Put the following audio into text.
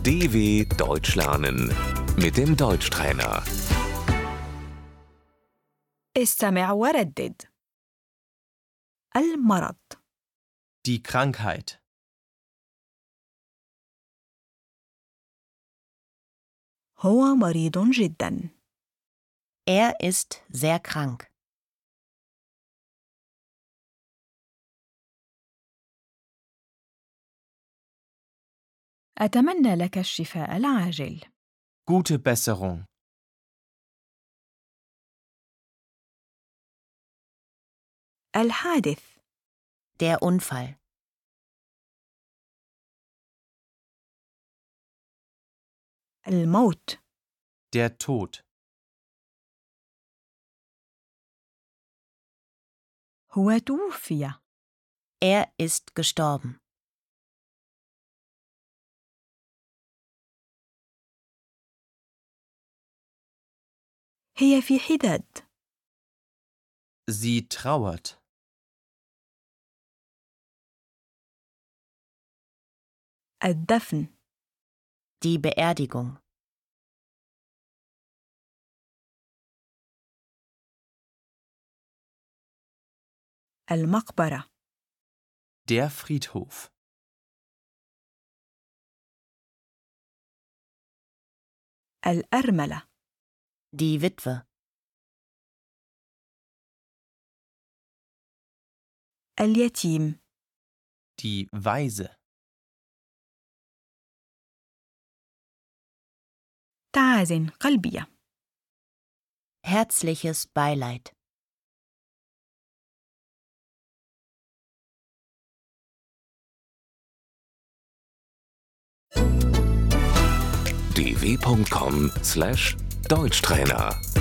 DW Deutsch lernen mit dem Deutschtrainer. استمع وردد. المرض. Die Krankheit. هو مريض جدا. Er ist sehr krank. أتمنى لك الشفاء العاجل. Gute Besserung. الحادث. Der Unfall. الموت. Der Tod. هو توفي. Er ist gestorben. هي في حداد. Sie trauert. الدفن. Die Beerdigung. المقبرة. Der Friedhof. الأرملة. Die Witwe. اليتيم. Die Waise. تعازن قلبية. Herzliches Beileid. dw.com/Deutschtrainer